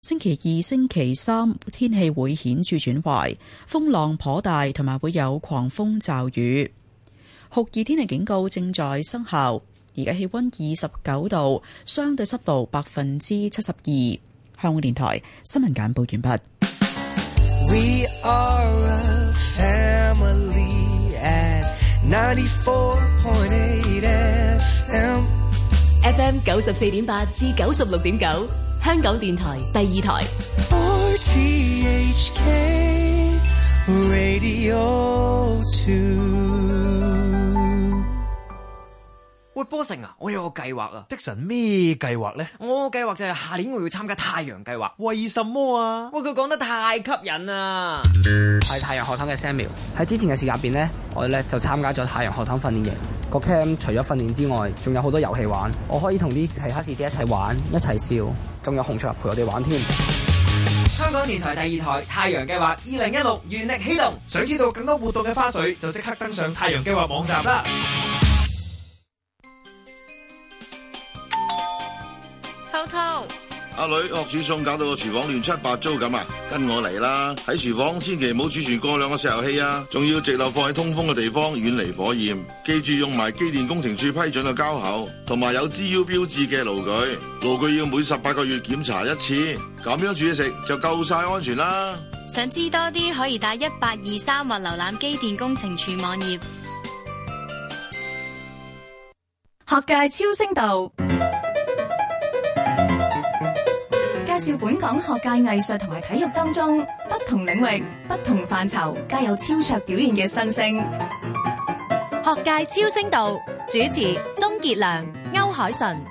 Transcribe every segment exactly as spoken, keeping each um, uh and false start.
星期二、星期三天氣會顯著轉壞，風浪頗大，同埋會有狂風驟雨。酷熱天氣警告正在生效。而家氣溫二十九度，相對濕度百分之七十二。香港電台新聞簡報完畢。We are a family at ninety-four point eight F M F M 九十四點八至九十六點九，香港電台第二台。 R T H K Radio two。 喂，波成啊，我有個計劃啊。 的神咩計劃呢？ 我個計劃就係下年我要參加太陽計劃。 為什麼啊？ 喂，佢講得太吸引啦！ 係太陽學堂嘅 Samuel。喺之前嘅時間入邊呢，我哋咧就參加咗太陽學堂訓練營。個 camp 除咗訓練之外，仲有好多遊戲玩。我可以同啲其他師姐一齊玩，一齊笑，仲有洪卓立陪我哋玩添。 香港電台第二台太陽計劃二零一六原力啟動。 想知道更多活動嘅花絮，就即刻登上太陽計劃網站啦。 滔滔， 阿女學煮餸搞到個廚房亂七八糟咁啊！跟我嚟啦！喺廚房千祈唔好儲存過量嘅石油氣啊！仲要直流放喺通風嘅地方，遠離火焰。記住用埋機電工程署批准嘅膠口，同埋有 G U 標誌嘅爐具。爐具要每十八個月檢查一次，咁樣煮嘢食就夠晒安全啦！ 想知多啲可以打一八二三或瀏覽機電工程署網頁。 學界超聲道介紹本港學界藝術同埋體育當中不同領域、不同範疇皆有超卓表現嘅新星。 學界超聲道主持鍾傑良、歐鎧淳。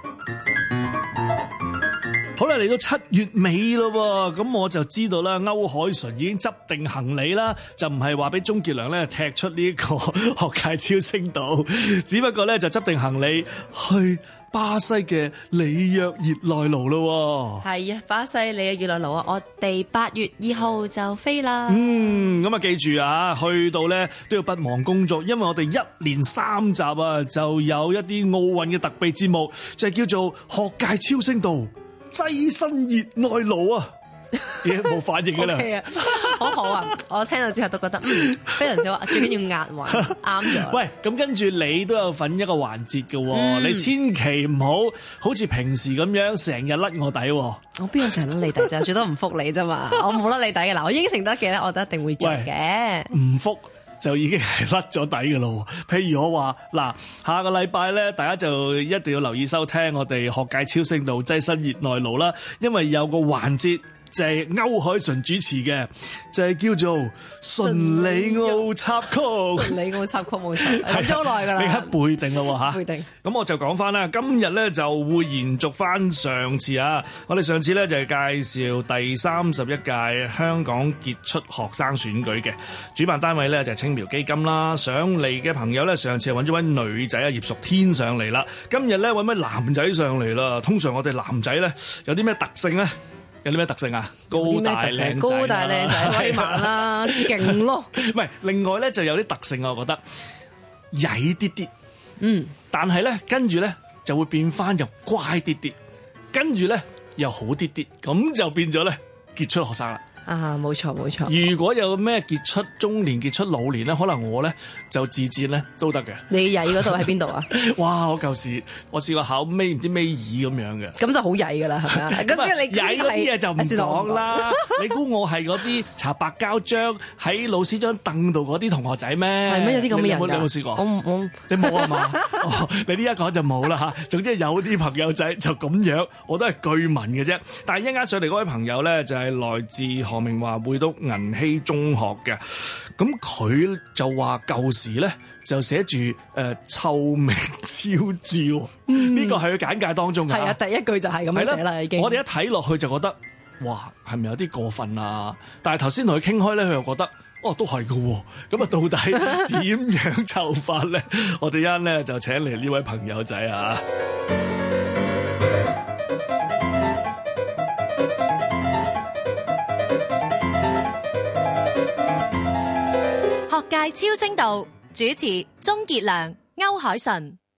好啦，嚟到七月尾咯，咁我就知道啦，歐鎧淳已經執定行李啦，就唔係話俾鍾傑良咧踢出呢個學界超聲道，只不過咧就執定行李去巴西嘅里約熱內盧咯。 係啊，巴西里約熱內盧啊，我哋八月二號就飛啦。 嗯，咁啊記住啊，去到咧都要不忘工作，因為我哋一連三集啊，就有一啲奧運嘅特備節目，就係叫做學界超聲道躋身熱內盧啊！嘢冇反應㗎啦。 Okay 啊，好好啊！我聽到之後都覺得嗯非常之好，最緊要押韻啱咗。 喂，咁跟住你都有份一個環節嘅喎，嗯、你千祈唔好好似平時咁樣成日甩我底喎。 我邊有成日甩你底啫？最多唔覆你啫嘛。我冇甩你底嘅嗱，我應承得嘅咧，我都一定會做嘅。 唔覆就已經係甩咗底嘅咯。譬如我話嗱，下個禮拜咧，大家就一定要留意收聽我哋學界超聲道躋身熱內盧啦，因為有個環節就係歐鎧淳主持嘅，就係、是、叫做順里奧插曲。 順里奧插曲冇錯，諗咗好耐㗎啦。 你刻背定啦嚇， 背定。咁我就講翻啦，今日咧就會延續翻上次啊，我哋上次咧就係介紹第三十一屆香港傑出學生選舉嘅主辦單位咧就係青苗基金啦。上嚟嘅朋友咧，上次係揾咗位女仔啊葉淑天上嚟啦，今日咧揾位男仔上嚟啦。通常我哋男仔咧有啲咩特性咧？有啲咩特性啊？高大靚仔， 高大靚仔，威猛啦，勁咯。 唔係，另外咧就有啲特性啊，我覺得曳啲啲， 嗯，但係咧跟住咧就會變翻又乖啲啲，跟住咧又好啲啲，咁就變咗咧傑出學生啦。 啊，冇錯冇錯。 如果有咩傑出中年、傑出老年咧，可能我咧就自薦咧都得嘅。 你曳嗰度喺邊度啊？ 哇！我舊時我試過考尾唔知尾二咁樣嘅， 咁就好曳噶啦，係咪啊？咁即係你曳嗰啲嘢就唔講啦。你估我係嗰啲搽白膠漿喺老師張凳度嗰啲同學仔咩？ 係咩？有啲咁嘅人㗎？ 你有冇試過？ 我我你冇啊嘛？哦，你呢一講就冇啦嚇。總之有啲朋友仔就咁樣，我都係據聞嘅啫。但係一陣間上嚟嗰位朋友咧，就係來自何明華會讀銀禧中學嘅，咁佢就話舊時咧就寫住誒臭名昭著，呢個係佢簡介當中嘅。 係啊，第一句就係咁樣寫啦，已經。 我哋一睇落去就覺得，哇，係咪有啲過分啊？但係頭先同佢傾開咧，佢又覺得，哦，都係嘅。咁啊，到底點樣臭法咧？我哋一陣咧就請嚟呢位朋友仔啊！ 學界超聲道主持鍾傑良、歐鎧淳。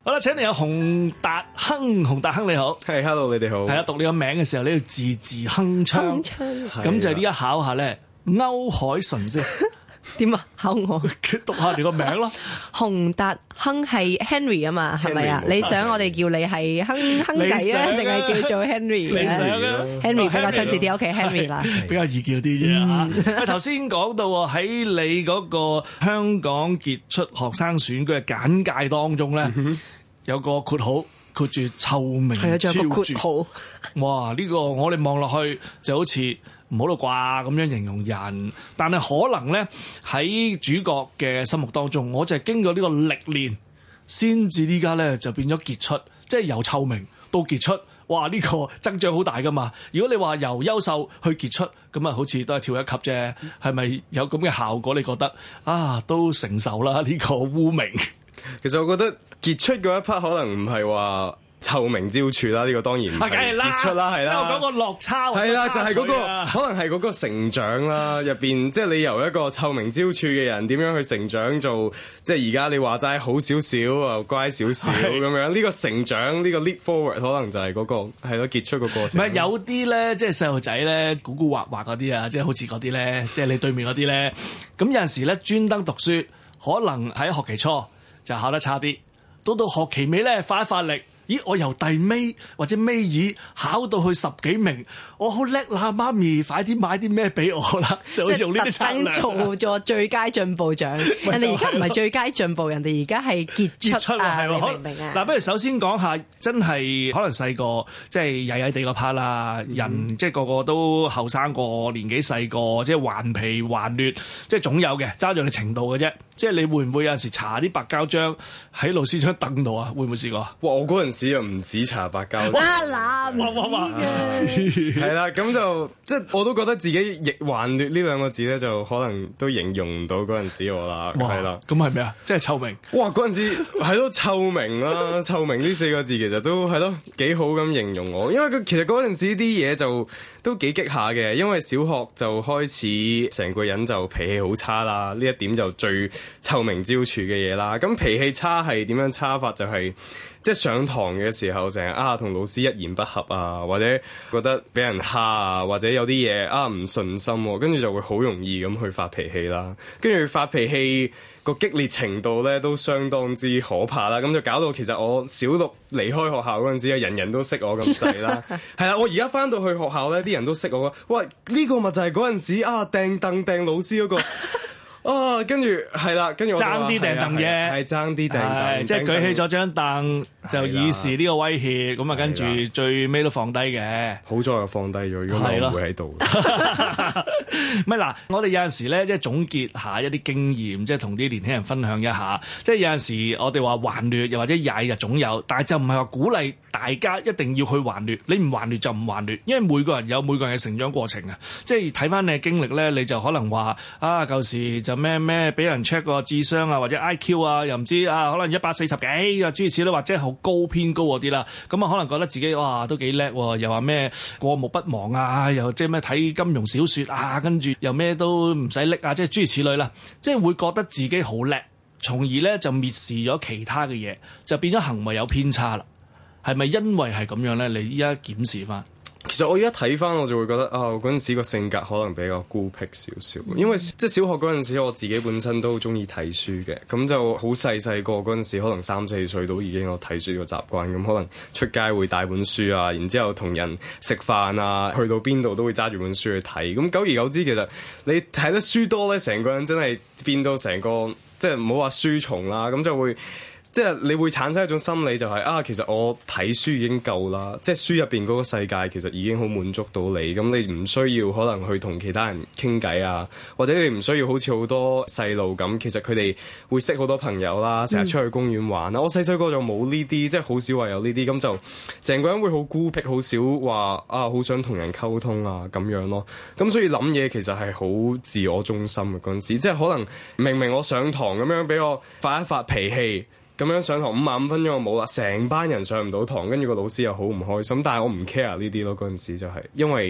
好啦，請你有洪達亨，洪達亨你好， 係、hey, hello 你哋好，係啦，讀你個名嘅時候你要字字鏗鏘，咁就呢一考下咧，歐鎧淳先。 點啊？考我讀下你個名咯。 洪達亨係 Henry 啊嘛，係咪啊？你想我哋叫你係亨亨仔啊，定係叫做 Henry？ 你想啊 ？Henry 比較親切啲，OK Henry 啦， 比較易叫啲啫嚇。頭先講到喺你嗰個香港傑出學生選舉嘅簡介當中咧，有個括號括住臭名昭著。哇！呢個我哋望落去就好似唔好啦啩咁樣形容人，但係可能咧喺主角嘅心目當中，我就係經過呢個歷練，先至呢家咧就變咗傑出，即係由臭名到傑出，哇！呢個增長好大噶嘛。如果你話由優秀去傑出，咁啊好似都係跳一級啫，係咪有咁嘅效果？你覺得啊都承受啦呢個污名。 其實我覺得傑出嗰一 part 可能唔係話臭名昭著啦，呢、這個當然唔係傑出啦，係啦。即係我講個落差，係啦，就係、是、嗰、那個可能係嗰個成長啦，入邊即係你由一個臭名昭著嘅人點樣去成長做，即係而家你話齋好少少啊，乖少少咁樣，呢、這個成長呢、這個 leap forward 可能就係嗰、那個係咯傑出個過程。唔係有啲咧，即係細路仔咧，古古惑惑嗰啲啊，即係好似嗰啲咧，即係你對面嗰啲咧，咁有陣時咧專登讀書，可能喺學期初就考得差啲，到到學期尾咧發一發力。咦！我由第尾或者尾二考到去十幾名，我好叻啦！媽咪，快啲買啲咩俾我啦！就用呢啲策略， 做咗最佳進步獎。人哋而家唔係最佳進步，人哋而家係傑出啊！你明唔明啊？ 嗱，不如首先講下，真係可能細個即係曳曳地個 part 啦，人、嗯、即係個個都後生過，年紀細個，即係頑皮頑劣，即係總有嘅，揸住你程度嘅啫。即係你會唔會有陣時搽啲白膠漿喺老師張凳度啊？會唔會試過？ 哇！我嗰陣時又唔止搽白膠漿， 哇嗱，唔知嘅係啦，咁就即係我都覺得自己亦頑劣呢兩個字咧，就可能都形容唔到嗰陣時我啦，係啦。 咁係咩啊？即係臭名。 哇！嗰陣時係咯，臭名啦，臭名呢四個字其實都係咯幾好咁形容我，因為佢其實嗰陣時啲嘢就都幾激下嘅，因為小學就開始成個人就脾氣好差啦，呢一點就最臭名昭著嘅嘢啦。咁脾氣差係點樣差法？就係、是、即係上堂嘅時候成日啊同老師一言不合啊，或者覺得俾人蝦啊，或者有啲嘢啊唔順心，跟住就會好容易咁去發脾氣啦。跟住發脾氣個激烈程度咧都相當之可怕啦。咁就搞到其實我小六離開學校嗰陣時啊，人人都識我咁滯啦。係啦，我而家翻到去學校咧，啲人都識我。喂，呢、這個咪就係嗰陣時啊掟凳掟老師嗰、那個。啊，跟住係啦，跟住爭啲掟凳嘅， 係爭啲掟凳， 即係舉起咗張凳就以示呢個威脅，咁啊跟住最尾都放低嘅。 好在又放低咗，如果我唔會喺度。 唔係嗱，我哋有陣時咧，即係總結下一啲經驗，即係同啲年輕人分享一下。即係有陣時我哋話頑劣，又或者曳就總有，但係就唔係話鼓勵大家一定要去頑劣。你唔頑劣就唔頑劣，因為每個人有每個人嘅成長過程啊。即係睇翻你嘅經歷咧，你就可能話啊，舊時就咩咩俾人 check 個智商啊，或者 I Q 啊，又唔知啊，可能一百四十幾啊，諸如此類，或者好高偏高嗰啲啦。咁啊，可能覺得自己哇都幾叻喎，又話咩過目不忘啊，又即係咩睇金庸小説啊，跟住又咩都唔使拎啊，即係諸如此類啦。即係會覺得自己好叻，從而咧就蔑視咗其他嘅嘢，就變咗行為有偏差啦。係咪因為係咁樣咧？你依家檢視翻。 其實我而家睇翻，我就會覺得啊，嗰陣時個性格可能比較孤僻少少，因為即係小學嗰陣時，我自己本身都中意睇書嘅，咁就好細細個嗰陣時，可能三四歲都已經有睇書個習慣，咁可能出街會帶本書啊，然之後同人食飯啊，去到邊度都會揸住本書去睇，咁久而久之，其實你睇得書多咧，成個人真係變到成個即係唔好話書蟲啦，咁就會。即係你會產生一種心理，就係啊，其實我睇書已經夠啦，即係書入邊嗰個世界其實已經好滿足到你，咁你唔需要可能去同其他人傾偈啊，或者你唔需要好似好多細路咁，其實佢哋會識好多朋友啦，成日出去公園玩啦。嗯、我細細個就冇呢啲，即係好少話有呢啲，咁就成個人會好孤僻，好少話啊，好想同人溝通啊咁樣咯。咁所以諗嘢其實係好自我中心嘅嗰陣時，即係可能明明我上堂咁樣俾我發一發脾氣。咁樣上堂五十五分鐘我冇啦，成班人上唔到堂，跟住個老師又好唔開心，但係我唔 care 呢啲咯。嗰陣時就係因為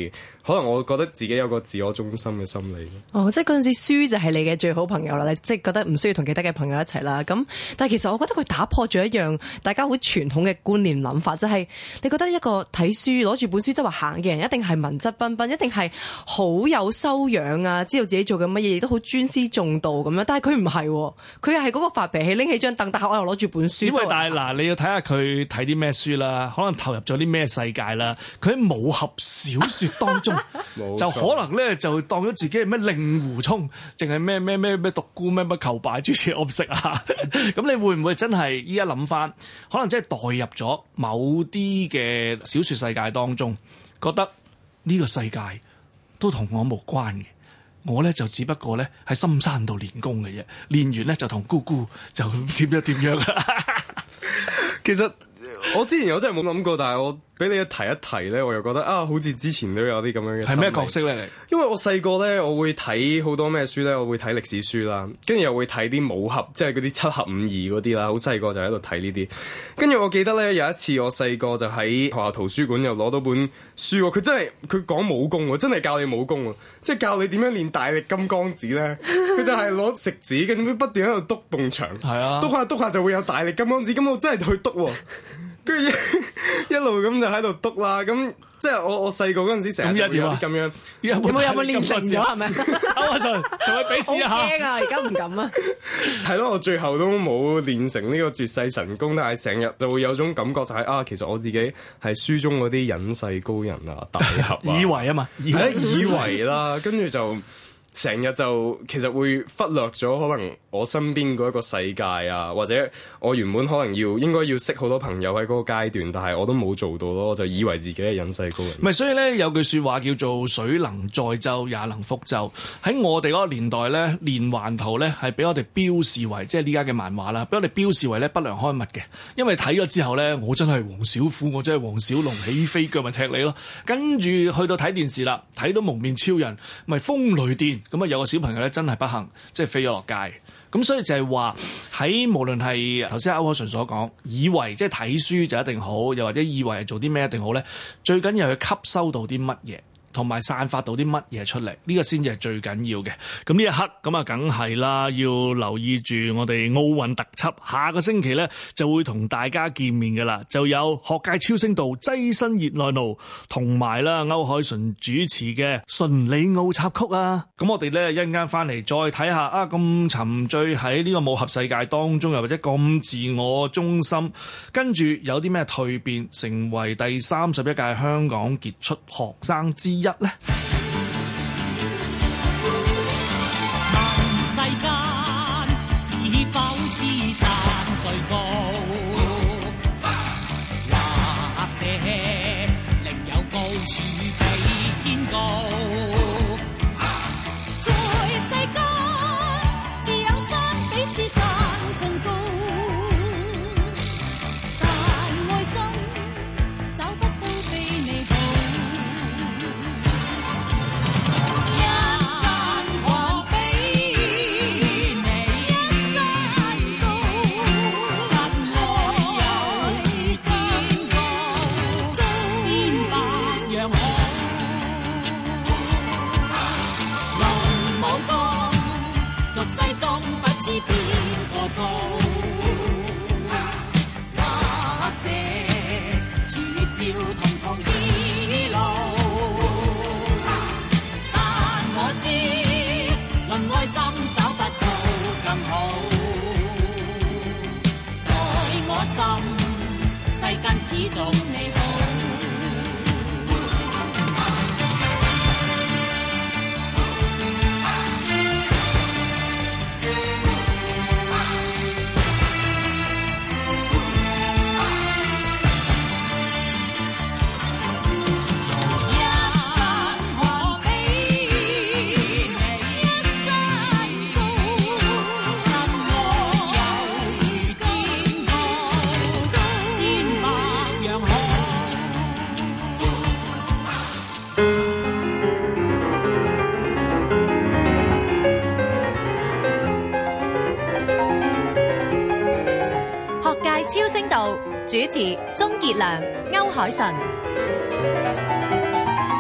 可能我覺得自己有個自我中心嘅心理。 哦，即係嗰陣時書就係你嘅最好朋友啦，你即係覺得唔需要同其他嘅朋友一齊啦。咁但係其實我覺得佢打破咗一樣大家好傳統嘅觀念諗法，就係、是、你覺得一個睇書攞住本書周圍行嘅人一定係文質彬彬，一定係好有修養啊，知道自己做緊乜嘢，亦都好尊師重道咁樣。但係佢唔係，佢又係嗰個發脾氣拎起張凳，但係我又攞住本書。因為但係嗱，你要睇下佢睇啲咩書啦，可能投入咗啲咩世界啦。佢喺武俠小說當中，就可能咧就當咗自己係咩令狐沖，淨係咩咩咩咩獨孤咩乜求敗諸此，我唔識啊。咁你會唔會真係依家諗翻，可能真係代入咗某啲嘅小說世界當中，覺得呢個世界都同我無關嘅，我咧就只不過咧喺深山度練功嘅啫，練完咧就同姑姑就點樣點樣啦。 其實我之前有真係冇諗過，但係我俾你一提一提咧，我又覺得啊，好似之前都有啲咁樣嘅。係咩角色咧？你因為我細個咧，我會睇好多咩書咧，我會睇歷史書啦，跟住又會睇啲武俠，即係嗰啲七俠五義嗰啲啦。好細個就喺度睇呢啲。跟住我記得咧，有一次我細個就喺學校圖書館又攞到本書，佢真係佢講武功喎，真係教你武功喎，即係教你點樣練大力金剛指咧。佢就係攞食指，跟住不斷喺度篤埲牆，係啊，篤下篤下就會有大力金剛指。咁我真係去篤喎。跟住一,一路咁就喺度篤啦，咁即係我我細個嗰陣時成日有啲咁樣， 有冇有冇練成咗係咪？ 歐鎧淳同佢比試一下。 好驚啊！而家唔敢啊。 係咯，我最後都冇練成呢個絕世神功，但係成日就會有種感覺就係、是、啊，其實我自己係書中嗰啲隱世高人啊、大俠啊， 以為啊嘛， 係啊，以為啦，跟住就。成日就其實會忽略咗可能我身邊嗰一個世界啊，或者我原本可能要應該要識好多朋友喺嗰個階段，但係我都冇做到咯，我就以為自己係隱世高人。 唔係，所以咧有句説話叫做水能載舟也能覆舟。喺我哋嗰個年代咧，連環圖咧係俾我哋標示為即係呢家嘅漫畫啦，俾我哋標示為咧不良刊物嘅。因為睇咗之後咧，我真係黃小虎，我真係黃小龍，起飛腳咪踢你咯。跟住去到睇電視啦，睇到蒙面超人，咪風雷電。咁啊有個小朋友咧真係不幸，即係飛咗落街。咁所以就係話喺無論係頭先歐鎧淳所講，以為即係睇書就一定好，又或者以為係做啲咩一定好咧，最緊要係吸收到啲乜嘢，同埋散發到啲乜嘢出嚟，呢個先至係最緊要嘅。咁呢一刻咁啊，梗係啦，要留意住我哋奧運特輯，下個星期咧就會同大家見面㗎啦。就有學界超聲道躋身熱內盧，同埋啦歐鎧淳主持嘅順里奧插曲啊。咁我哋咧一陣間翻嚟再睇下啊，咁沉醉喺呢個武俠世界當中，又或者咁自我中心，跟住有啲咩蛻變，成為第三十一屆香港傑出學生之一咧？ 問世間是否知山最高，或者另有高處比天高？ 在世間自有山比此山更高，但愛心找不到比你好。世間始終你好。 超聲道主持鍾傑良、歐鎧淳。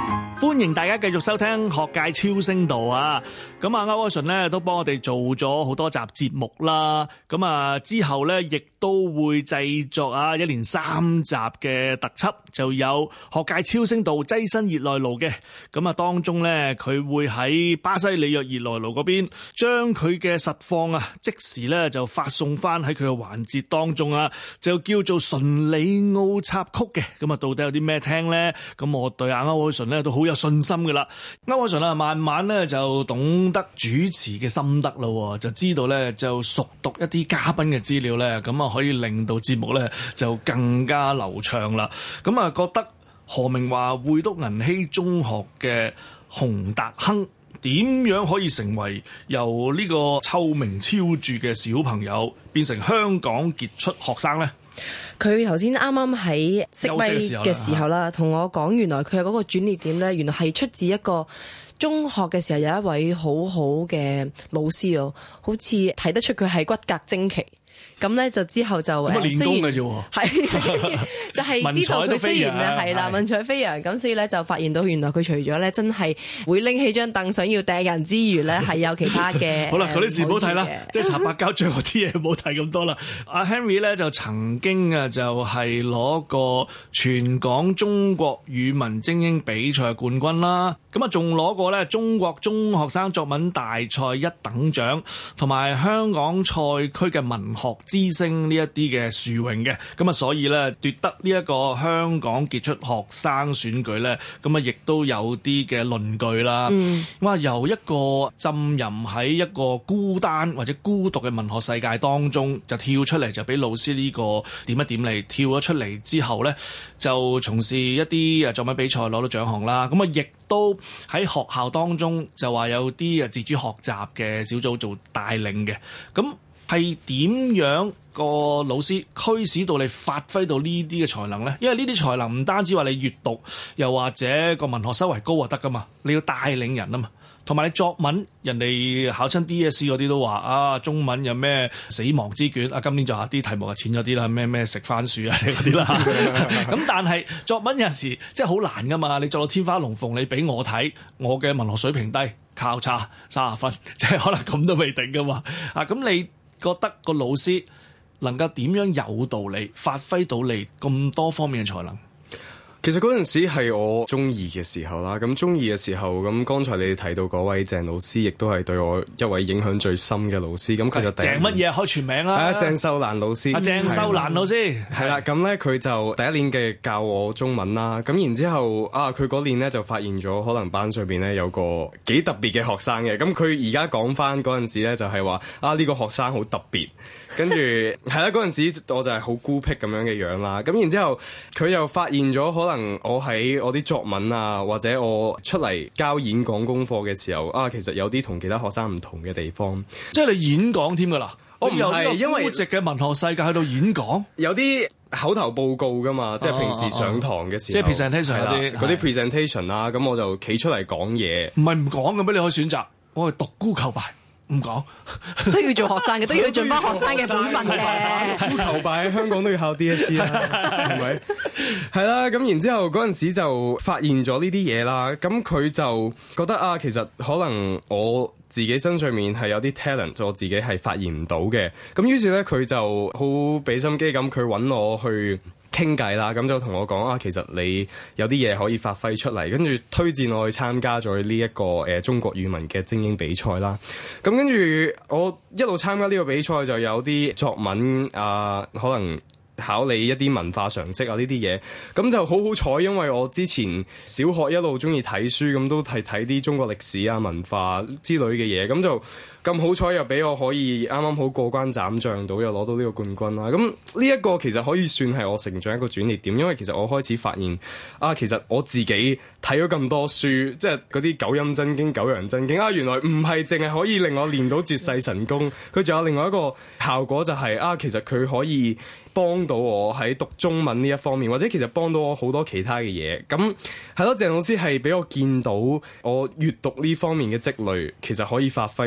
歡迎大家繼續收聽學界超聲道啊！咁啊，歐鎧淳咧都幫我哋做咗好多集節目啦。咁啊，之後咧亦都會製作啊一連三集嘅特輯，就有學界超聲道躋身熱內盧嘅。咁啊，當中咧佢會喺巴西里約熱內盧嗰邊，將佢嘅實況啊即時咧就發送翻喺佢嘅環節當中啊，就叫做純里奧插曲嘅。咁啊，到底有啲咩聽咧？咁我對阿歐鎧淳咧都好有信心噶啦。歐鎧淳啊，慢慢咧就懂得主持嘅心得咯，就知道咧就熟讀一啲嘉賓嘅資料咧，咁啊可以令到節目咧就更加流暢啦。咁啊覺得何明華會督銀禧中學嘅洪達亨點樣可以成為由呢個臭名昭著嘅小朋友變成香港傑出學生咧？ 佢頭先啱啱喺識威嘅時候啦，同我講原來佢有嗰個轉捩點咧，原來係出自一個中學嘅時候有一位好好嘅老師哦，好似睇得出佢係骨骼精奇。咁咧就之後就咁啊練功嘅啫喎， 係就係知道佢雖然咧係啦文采飛揚，咁所以咧就發現到原來佢除咗咧真係會拎起張凳想要掟人之餘咧，係有其他嘅。好啦，嗰啲事唔好睇啦，即係搽白膠最後啲嘢唔好睇咁多啦。阿 Henry 咧就曾經啊就係攞過全港中國語文精英比賽冠軍啦，咁啊仲攞過咧中國中學生作文大賽一等獎，同埋香港賽區嘅文學之星呢一啲嘅殊榮嘅，咁啊所以咧奪得呢一個香港傑出學生選舉咧，咁啊亦都有啲嘅論據啦。嗯、哇，由一個浸淫喺一個孤單或者孤獨嘅文學世界當中，就跳出嚟就俾老師呢個點一點嚟，跳咗出嚟之後咧，就從事一啲誒作文比賽攞到獎項啦。咁啊亦都喺學校當中就話有啲誒自主學習嘅小組做帶領嘅，咁。係點樣個老師驅使到你發揮到呢啲嘅才能呢？因為呢啲才能唔單止話你閱讀，又或者個文學修為高就得噶嘛，你要帶領人啊嘛。同埋你作文，人哋考親 D S E 嗰啲都話啊，中文有咩死亡之卷啊，今年就下啲題目係淺咗啲啦，咩咩食番薯啊，嗰啲啦。咁但係作文有陣時即係好難噶嘛，你作到天花龍鳳，你俾我睇，我嘅文學水平低，靠差三十分，即係可能咁都未定噶嘛。啊，咁你覺得個老師能夠點樣有道理發揮到你咁多方面嘅才能？ 其實嗰陣時係我中二嘅時候啦，咁中二嘅時候，咁剛才你哋提到嗰位鄭老師，亦都係對我一位影響最深嘅老師。咁佢就鄭乜嘢開全名啦？ 係啊，鄭秀蘭老師。啊， 鄭秀蘭老師係啦，咁咧佢就第一年嘅教我中文啦。咁然之後啊，佢嗰年咧就發現咗可能班上邊咧有個幾特別嘅學生嘅。咁佢而家講翻嗰陣時咧，就係話啊呢個學生好特別。跟住係啦，嗰陣時我就係好孤僻咁樣嘅樣啦。咁然之後佢又發現咗可能我喺我啲作文啊，或者我出嚟交演講功課嘅時候啊，其實有啲同其他學生唔同嘅地方。 即係你演講添㗎啦？ 我唔係因為孤寂嘅文學世界喺度演講， 有啲口頭報告㗎嘛，即係平時上堂嘅時候， 即係 presentation 嗰啲嗰啲 presentation 啦。咁我就企出嚟講嘢。 唔係唔講嘅咩？你可以選擇，我係獨孤求敗。唔講都要做學生嘅，都要盡翻學生嘅本分嘅。 獨孤求敗喺香港都要考 D S E 啦，係咪？係啦，咁然之後嗰陣時就發現咗呢啲嘢啦。咁佢就覺得啊，其實可能我自己身上面係有啲 talent，我自己係發現唔到嘅。咁於是咧，佢就好俾心機咁，佢揾我去傾偈啦，咁就同我講啊，其實你有啲嘢可以發揮出嚟，跟住推薦我去參加咗呢一個誒、呃、中國語文嘅精英比賽啦。咁跟住我一路參加呢個比賽，就有啲作文啊，可能考你一啲文化常識啊呢啲嘢，咁就好好彩，因為我之前小學一路中意睇書，咁都係睇啲中國歷史啊、文化之類嘅嘢，咁就咁好彩又俾我可以啱啱好過關斬將到，又攞到呢個冠軍啦。咁呢一個其實可以算係我成長一個轉捩點，因為其實我開始發現啊，其實我自己睇咗咁多書，即係嗰啲九陰真經、九陽真經啊，原來唔係淨係可以令我練到絕世神功，佢仲有另外一個效果就係、是、啊，其實佢可以幫到我喺讀中文呢一方面，或者其實幫到我好多其他嘅嘢。咁係咯，鄭老師係俾我見到我閱讀呢方面嘅積累，其實可以發揮到好多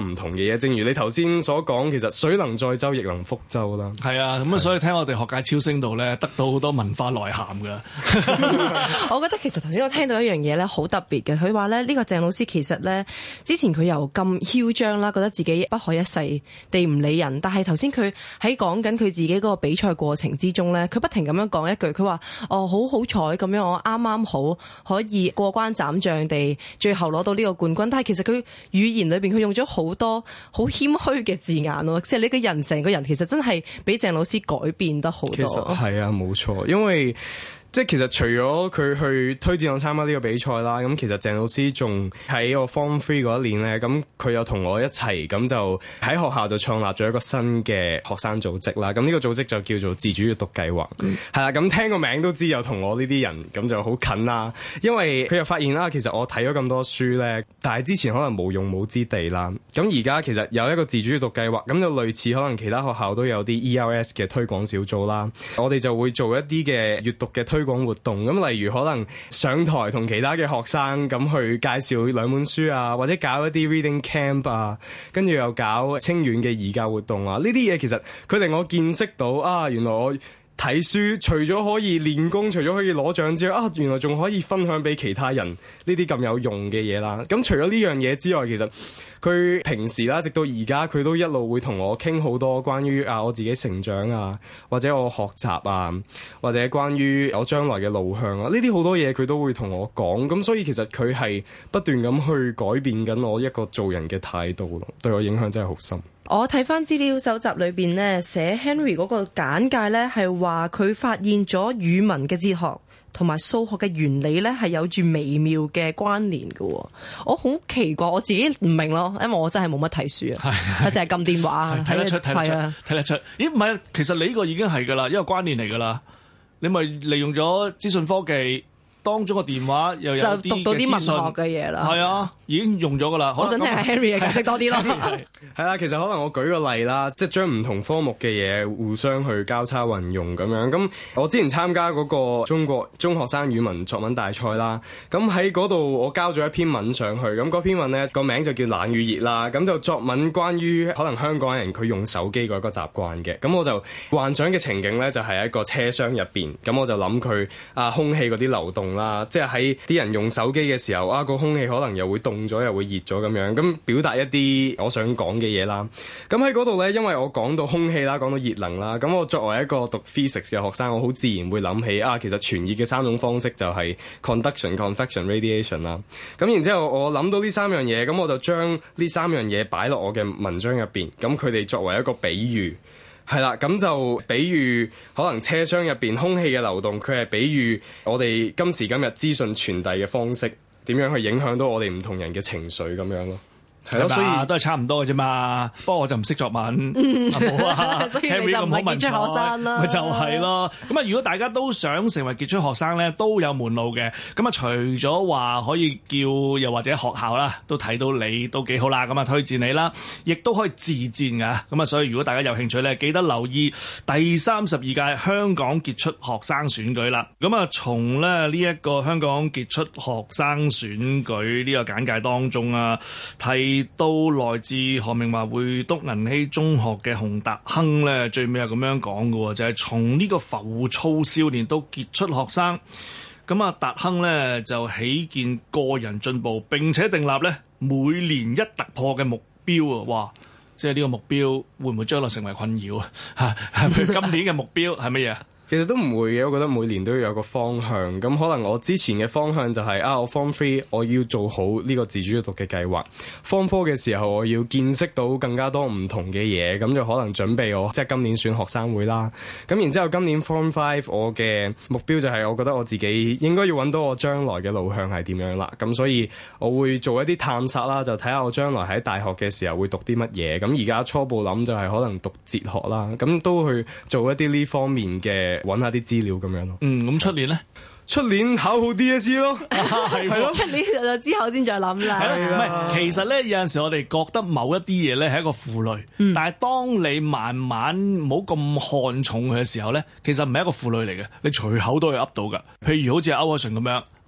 唔同嘅嘢。正如你頭先所講，其實水能載舟，亦能覆舟啦。 係啊，咁啊，所以聽我哋學界超聲度咧，得到好多文化內涵㗎。 我覺得其實頭先我聽到一樣嘢咧，好特別嘅。佢話咧，呢個鄭老師其實咧，之前佢又咁囂張啦，覺得自己不可一世地唔理人。但係頭先佢喺講緊佢自己嗰個比賽過程之中咧，佢不停咁樣講一句，佢話：哦，好好彩咁樣，我啱啱好可以過關斬將地，最後攞到呢個冠軍。但係其實佢語言裏邊佢用咗好多好謙虛嘅字眼咯，即係你個人成個人其實真係俾鄭老師改變得好多。 其實係啊，冇錯，因為即係其實除咗佢去推薦我參加呢個比賽啦，咁其實鄭老師仲喺我 Form Three 嗰一年咧，咁佢又同我一齊咁就喺學校就創立咗一個新嘅學生組織啦。咁呢個組織就叫做自主閱讀計劃，係啦、嗯。咁聽個名都知，又同我呢啲人咁就好近啦。因為佢又發現啦，其實我睇咗咁多書咧，但係之前可能無用武之地啦。咁而家其實有一個自主閱讀計劃，咁就類似可能其他學校都有啲 E L S 嘅推廣小組啦。我哋就會做一啲嘅閱讀嘅推講活動，咁例如可能上台同其他嘅學生咁去介紹兩本書啊，或者搞一啲 reading camp 啊，跟住又搞清遠嘅義教活動啊，呢啲嘢其實佢令我見識到啊，原來我睇書除咗可以練功，除咗可以攞獎之外，啊，原來仲可以分享俾其他人呢啲咁有用嘅嘢啦。咁除咗呢樣嘢之外，其實佢平時啦，直到而家佢都一路會同我傾好多關於啊我自己成長啊，或者我學習啊，或者關於我將來嘅路向啊，呢啲好多嘢佢都會同我講。咁所以其實佢係不斷咁去改變緊我一個做人嘅態度咯，對我影響真係好深。 我睇翻資料搜集裏邊呢，寫 Henry 嗰個簡介呢，係話佢發現咗語文嘅哲學同埋數學嘅原理呢，係有住微妙嘅關聯嘅。我好奇怪，我自己唔明咯，因為我真係冇乜睇書啊，我淨係撳電話睇得出，睇得出，睇得出。咦，唔係，其實你呢個已經係噶啦，一個關聯嚟噶啦。你咪利用咗資訊科技當中個電話又有啲就讀到啲文學嘅嘢啦。 係啊，已經用咗噶啦。 我想聽下 Henry 嘅解釋多啲咯。 係啦，其實可能我舉個例啦，即係將唔同科目嘅嘢互相去交叉運用咁樣。咁我之前參加嗰個中國中學生語文作文大賽啦，咁喺嗰度我交咗一篇文上去，咁嗰篇文呢個名就叫冷與熱啦。咁就作文關於可能香港人佢用手機嗰個習慣嘅。咁我就幻想嘅情景呢，就係一個車廂入邊，咁我就諗佢啊空氣嗰啲流動啦，即係喺啲人用手機嘅時候啊，個空氣可能又會凍咗，又會熱咗咁樣，咁表達一啲我想講嘅嘢啦。咁喺嗰度呢，因為我講到空氣啦，講到熱能啦，咁我作為一個讀 physics 嘅學生，我好自然會諗起啊，其實傳熱嘅三種方式就係 conduction、convection、radiation 啦。咁然之後我諗到呢三樣嘢，咁我就將呢三樣嘢擺落我嘅文章入邊，咁佢哋作為一個比喻。係啦，咁就比喻可能車廂入邊空氣嘅流動，佢係比喻我哋今時今日資訊傳遞嘅方式點樣去影響到我哋唔同人嘅情緒咁樣咯。係咯，所以都係差唔多嘅啫嘛。不過我就唔識作文， 嗯、 好啊。 所以你就唔係傑出學生啦。 咪就係咯。咁啊，如果大家都想成為傑出學生咧，都有門路嘅。咁啊，除咗話可以叫又或者學校啦，都睇到你都幾好啦。咁啊，推薦你啦，亦都可以自薦噶。咁啊，所以如果大家有興趣咧，記得留意第三十二屆香港傑出學生選舉啦。咁啊，從咧呢一個香港傑出學生選舉呢個簡介當中啊，提到來自何明華會督銀禧中學嘅洪達亨咧，最尾係咁樣講嘅，就係從呢個浮躁少年到傑出學生。咁啊，達亨咧就起見個人進步，並且訂立咧每年一突破嘅目標啊！哇，即係呢個目標會唔會將來成為困擾啊？嚇，今年嘅目標係乜嘢？ 其實都唔會嘅，我覺得每年都要有個方向。咁可能我之前嘅方向就係、是、啊，我 Form Three 我要做好呢個自主閱讀嘅計劃。Form Four 嘅時候我要見識到更加多唔同嘅嘢，咁就可能準備我即係今年選學生會啦。咁然之後今年 Form Five 我嘅目標就係我覺得我自己應該要揾到我將來嘅路向係點樣啦。咁所以我會做一啲探索啦，就睇下我將來喺大學嘅時候會讀啲乜嘢。咁而家初步諗就係可能讀哲學啦，咁都去做一啲呢方面嘅。揾下啲資料咁樣咯。 嗯，咁出年咧？ 出年考好 D S E 咯。 係咯。 出年就之後先再諗啦。 係咯。唔係，其實咧有陣時我哋覺得某一啲嘢咧係一個負累，嗯、但係當你慢慢唔好咁看重佢嘅時候咧，其實唔係一個負累嚟嘅，你隨口都可以噏到㗎。譬如好似歐鎧淳咁樣。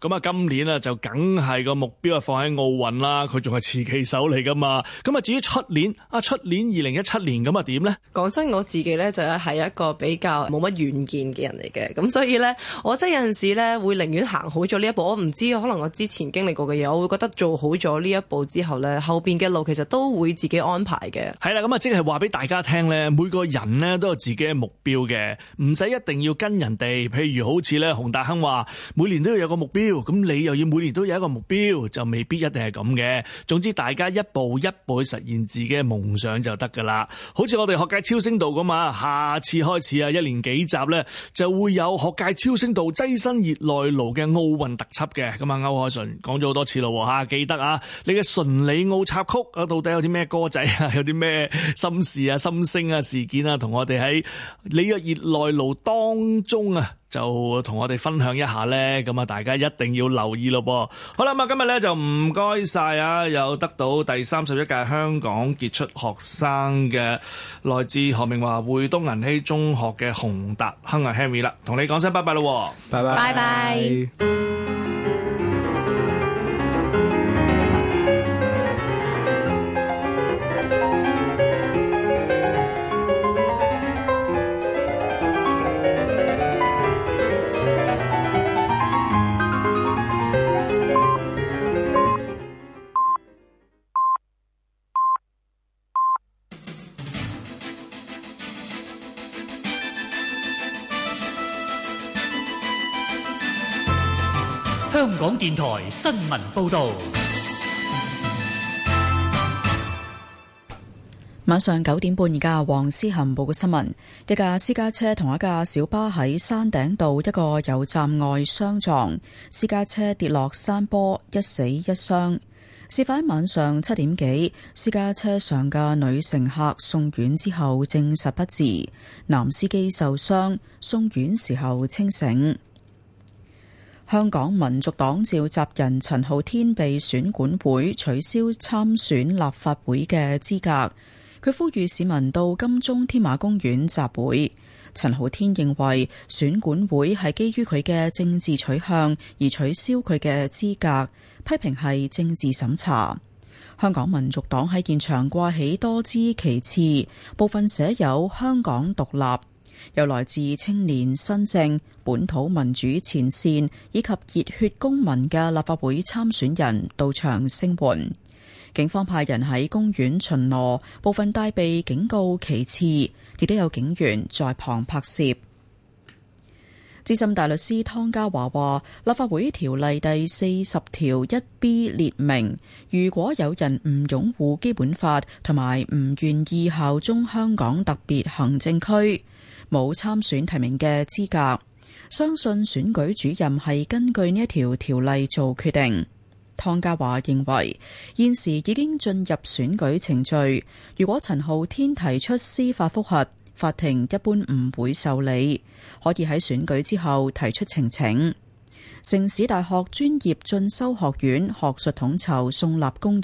咁啊今年啊就梗係個目標啊放喺奧運啦，佢仲係持旗手嚟噶嘛。咁啊至於出年啊出年二零一七年咁啊點呢？ 講真，我自己咧就係一個比較冇乜遠見嘅人嚟嘅，咁所以咧我真係有陣時咧會寧願行好咗呢一步。我唔知可能我之前經歷過嘅嘢，我會覺得做好咗呢一步之後咧，後邊嘅路其實都會自己安排嘅。 係啦，咁啊即係話俾大家聽咧，每個人咧都有自己嘅目標嘅，唔使一定要跟人哋。譬如好似咧洪達亨話，每年都要有個目標，咁你又要每年都有一個目標，就未必一定係咁嘅。總之大家一步一步去實現自己嘅夢想就得噶啦。好似我哋學界超聲道咁啊，下次開始啊，一連幾集咧就會有學界超聲道躋身熱內盧嘅奧運特輯嘅。咁啊，歐鎧淳講咗好多次咯吓，記得啊，你嘅純里奧插曲啊，到底有啲咩歌仔啊，有啲咩心事啊、心聲啊、事件啊，同我哋喺里約熱內盧當中啊，就同我哋分享一下呢。咁啊，大家一定要留意咯噃。好啦，咁啊，今日呢就唔該晒啊，有得到第三十一屆香港傑出學生嘅來自何明華會東銀禧中學嘅洪達亨啊 Henry 啦，同你講聲拜拜咯， 拜拜， 拜拜。 香港電台新聞報道。 晚上九點半，而家黃思涵報嘅新聞：一架私家車同一架小巴喺山頂道一個油站外相撞，私家車跌落山坡，一死一傷。事發喺晚上七點幾，私家車上嘅女乘客送院之後證實不治，男司機受傷，送院時候清醒。香港民族黨召集人陳浩天被選管會取消參選立法會嘅資格，佢呼籲市民到金鐘添馬公園集會。陳浩天認為選管會係基於佢嘅政治取向而取消佢嘅資格，批評係政治審查。香港民族黨喺現場掛起多支旗幟，部分寫有香港獨立。有來自青年新政、本土民主前線以及熱血公民嘅立法會參選人到場聲援。警方派人喺公園巡邏，部分帶備警告旗幟，亦都有警員在旁拍攝。資深大律師湯家驊話，立法會條例第四十條一 B 列明，如果有人唔擁護基本法同埋唔願意效忠香港特別行政區，冇參選提名嘅資格。相信選舉主任係根據呢一條條例做決定。湯家驊認為現時已經進入選舉程序，如果陳浩天提出司法覆核，法庭一般唔會受理，可以喺選舉之後提出呈請。城市大學專業進修學院學術統籌宋立功